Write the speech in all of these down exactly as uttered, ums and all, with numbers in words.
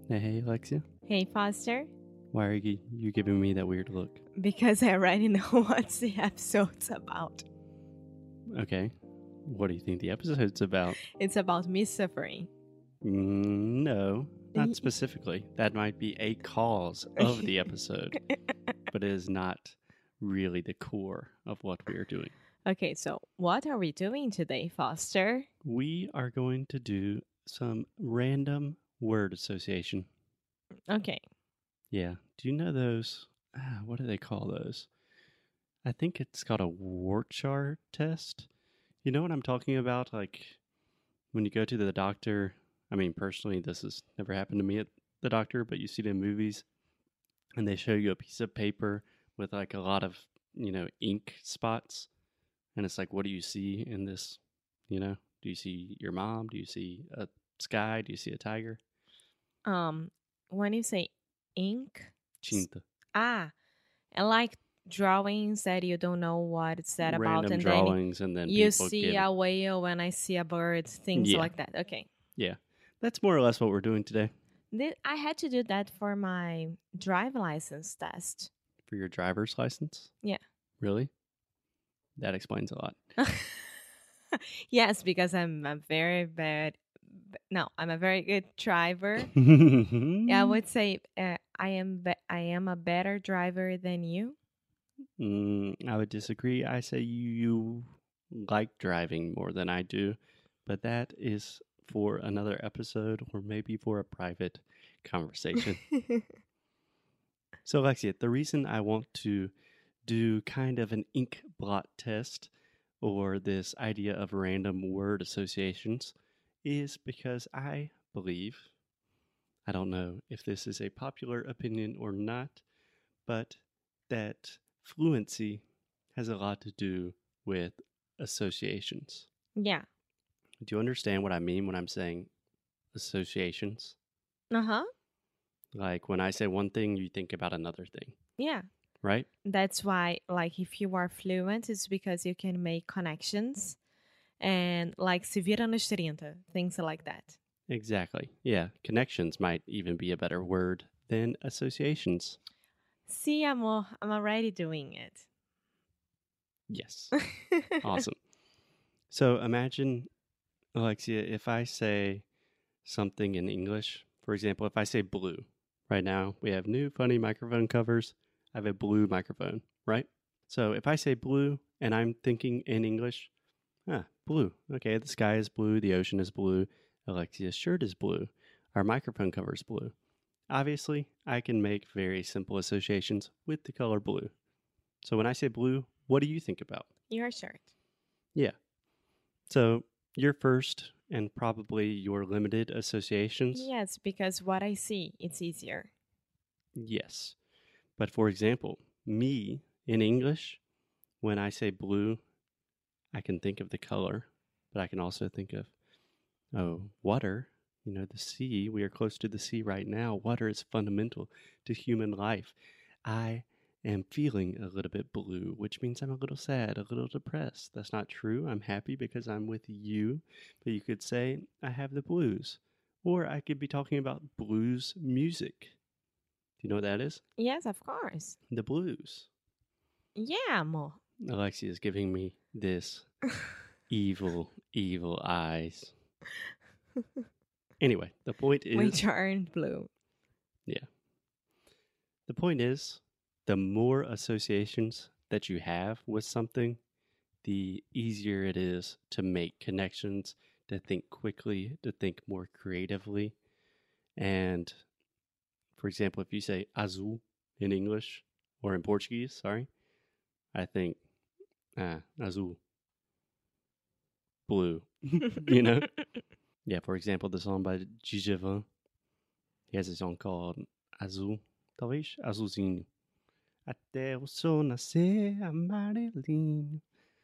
Hey, Alexia. Hey, Foster. Why are you, you giving me that weird look? Because I already know what the episode's about. Okay. What do you think the episode's about? It's about me suffering. Mm, no, not specifically. That might be a cause of the episode, but it is not really the core of what we are doing. Okay, so what are we doing today, Foster? We are going to do some random word association. Okay. Yeah. Do you know those? Ah, what do they call those? I think it's called a Wortschar test. You know what I'm talking about? Like when you go to the doctor. I mean, personally, this has never happened to me at the doctor, but you see it in movies and they show you a piece of paper with like a lot of, you know, ink spots. And it's like, what do you see in this? You know, do you see your mom? Do you see a sky? Do you see a tiger? Um, when you say ink, Cinta. ah, and like drawings that you don't know what it's that about, Random and drawings, then and then you people see give a whale and I see a bird, things Yeah. like that. Okay. Yeah, that's more or less what we're doing today. Th- I had to do that for my drive license test. For your driver's license? Yeah. Really? That explains a lot. Yes, because I'm a very bad. No, I'm a very good driver. Yeah, I would say uh, I am. Be- I am a better driver than you. Mm, I would disagree. I say you, you like driving more than I do, but that is for another episode or maybe for a private conversation. So, Alexia, the reason I want to do kind of an ink blot test or this idea of random word associations is because I believe, I don't know if this is a popular opinion or not, but that fluency has a lot to do with associations. Yeah. Do you understand what I mean when I'm saying associations? Uh huh. Like when I say one thing, you think about another thing, Yeah. right? That's why, like, if you are fluent, it's because you can make connections and, like, se vira nos trinta, things like that. Exactly. Yeah. Connections might even be a better word than associations. See, amor, I'm already doing it. Yes. Awesome. So imagine, Alexia, if I say something in English, for example, if I say blue, right now we have new funny microphone covers. I have a blue microphone, right? So if I say blue and I'm thinking in English, ah, blue. Okay, the sky is blue, the ocean is blue, Alexia's shirt is blue, our microphone cover is blue. Obviously, I can make very simple associations with the color blue. So when I say blue, what do you think about? Your shirt. Yeah. So your first and probably your limited associations? Yes, because what I see, it's easier. Yes. But for example, me in English, when I say blue, I can think of the color, but I can also think of, oh, water. You know, the sea. We are close to the sea right now. Water is fundamental to human life. I am feeling a little bit blue, which means I'm a little sad, a little depressed. That's not true. I'm happy because I'm with you. But you could say, I have the blues. Or I could be talking about blues music. Do you know what that is? Yes, of course. The blues. Yeah, amor. Alexia is giving me this evil, evil eyes. Anyway, the point is... Which aren't blue. Yeah. The point is, the more associations that you have with something, the easier it is to make connections, to think quickly, to think more creatively. And for example, if you say azul in English or in Portuguese, sorry, I think, ah, azul, blue, you know? Yeah, for example, the song by Djavan, he has a song called Azul, talvez Azulzinho. Até o sol nascer amarelinho.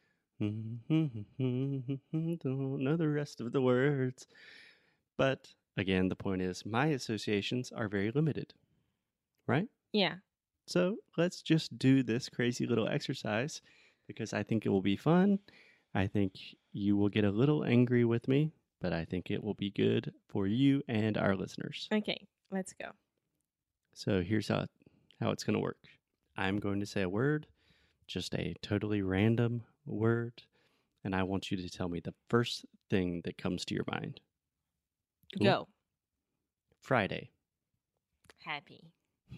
Don't know the rest of the words. But again, the point is my associations are very limited, right? Yeah. So let's just do this crazy little exercise because I think it will be fun. I think you will get a little angry with me, but I think it will be good for you and our listeners. Okay. Let's go. So here's how, how it's going to work. I'm going to say a word, just a totally random word, and I want you to tell me the first thing that comes to your mind. Cool? Go. Friday. Happy.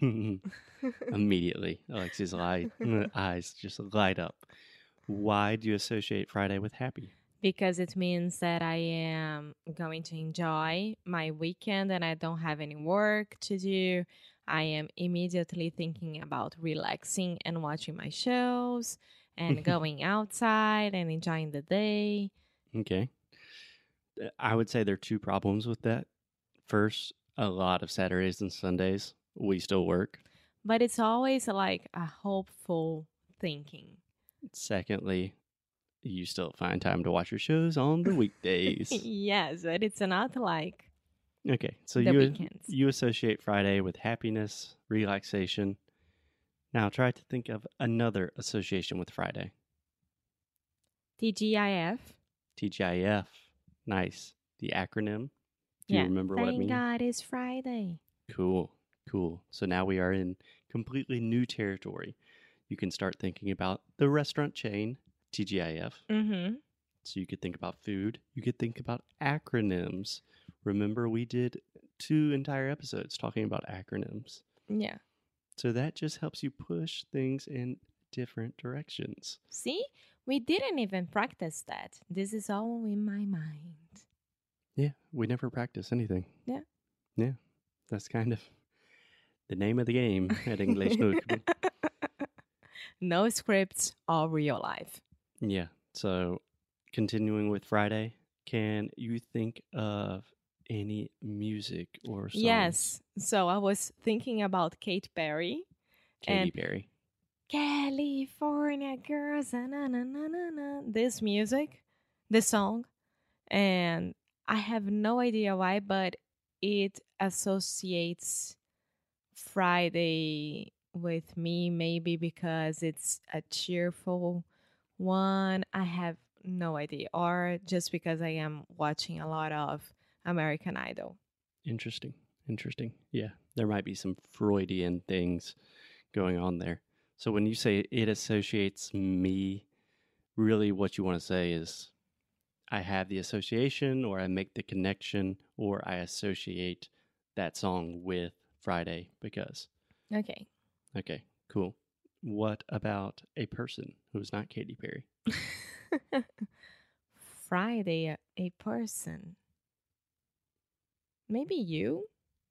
Immediately, Alexia's light, eyes just light up. Why do you associate Friday with happy? Because it means that I am going to enjoy my weekend and I don't have any work to do. I am immediately thinking about relaxing and watching my shows and going outside and enjoying the day. Okay. I would say there are two problems with that. First, a lot of Saturdays and Sundays, we still work. But it's always like a hopeful thinking. Secondly, you still find time to watch your shows on the weekdays. Yes, but it's not like okay, so the you weekends. you associate Friday with happiness, relaxation. Now try to think of another association with Friday. T G I F. T G I F. Nice. The acronym. Do yeah. you remember Thank what it means? Thank God it's Friday. Cool. Cool. So now we are in completely new territory. You can start thinking about the restaurant chain, T G I F. Mm-hmm. So you could think about food. You could think about acronyms. Remember, we did two entire episodes talking about acronyms. Yeah. So that just helps you push things in different directions. See? We didn't even practice that. This is all in my mind. Yeah, we never practice anything. Yeah. Yeah, that's kind of the name of the game at English Notebook. No scripts, all real life. Yeah, so continuing with Friday, can you think of any music or songs? Yes, so I was thinking about Katy Perry. Katy Perry. California girls, na, na, na, na, na. This music, this song, and I have no idea why, but it associates Friday with me, maybe because it's a cheerful one. I have no idea, or just because I am watching a lot of American Idol. Interesting. Interesting. Yeah, there might be some Freudian things going on there. So when you say it associates me, really what you want to say is I have the association, or I make the connection, or I associate that song with Friday because. Okay. Okay, cool. What about a person who's not Katy Perry? Friday, a person. Maybe you?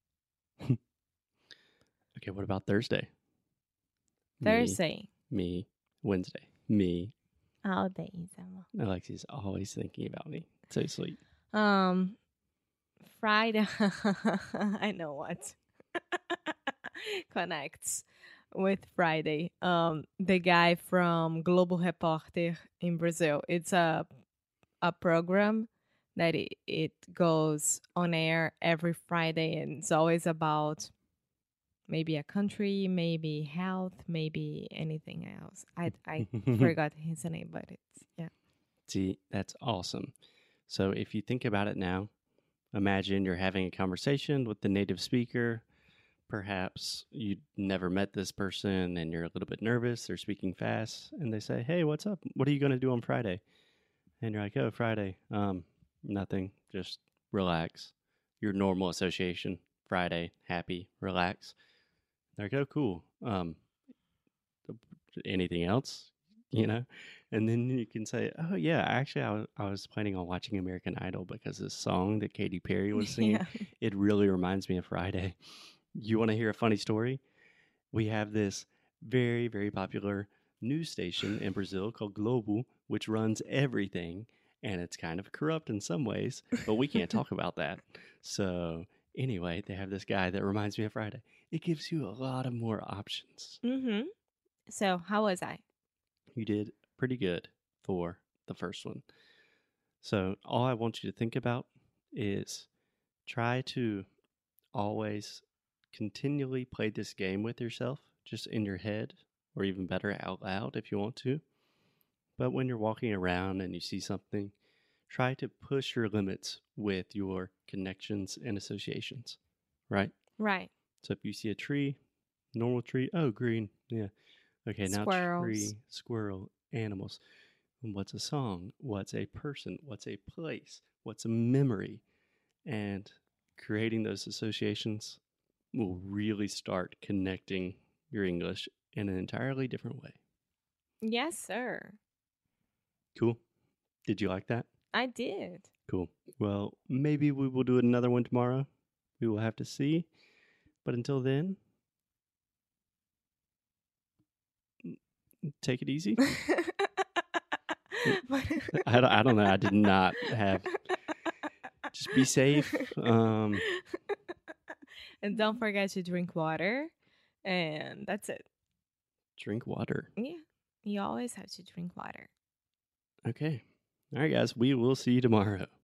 Okay, what about Thursday? Thursday. Me. me. Wednesday. Me. All days. Alexi's always thinking about me. So sweet. Um, Friday. I know what connects with Friday. Um, the guy from Globo Repórter in Brazil. It's a a program that it, it goes on air every Friday, and it's always about maybe a country, maybe health, maybe anything else. I I forgot his name, but it's yeah. See, that's awesome. So if you think about it now, imagine you're having a conversation with the native speaker. Perhaps you never met this person and you're a little bit nervous. They're speaking fast and they say, "Hey, what's up? What are you going to do on Friday?" And you're like, "Oh, Friday. Um, nothing. Just relax." Your normal association, Friday, happy, relax. They're like, "Oh, cool. Um, anything else?" You know? And then you can say, "Oh, yeah, actually, I was, I was planning on watching American Idol because this song that Katy Perry was singing, yeah. It really reminds me of Friday." You want to hear a funny story? We have this very, very popular news station in Brazil called Globo, which runs everything, and it's kind of corrupt in some ways, but we can't talk about that. So anyway, they have this guy that reminds me of Friday. It gives you a lot of more options. Mm-hmm. So how was I? You did pretty good for the first one. So all I want you to think about is try to always continually play this game with yourself, just in your head, or even better, out loud if you want to. But when you're walking around and you see something, try to push your limits with your connections and associations, right? Right. So if you see a tree, normal tree, oh, green. Yeah. Okay, now Squirrels. tree, squirrel, animals. What's a song? What's a person? What's a place? What's a memory? And creating those associations will really start connecting your English in an entirely different way. Yes, sir. Cool. Did you like that? I did. Cool. Well, maybe we will do another one tomorrow. We will have to see. But until then, take it easy. I don't, I don't know. I did not have. Just be safe. Um, and don't forget to drink water. And that's it. Drink water. Yeah. You always have to drink water. Okay. All right, guys. We will see you tomorrow.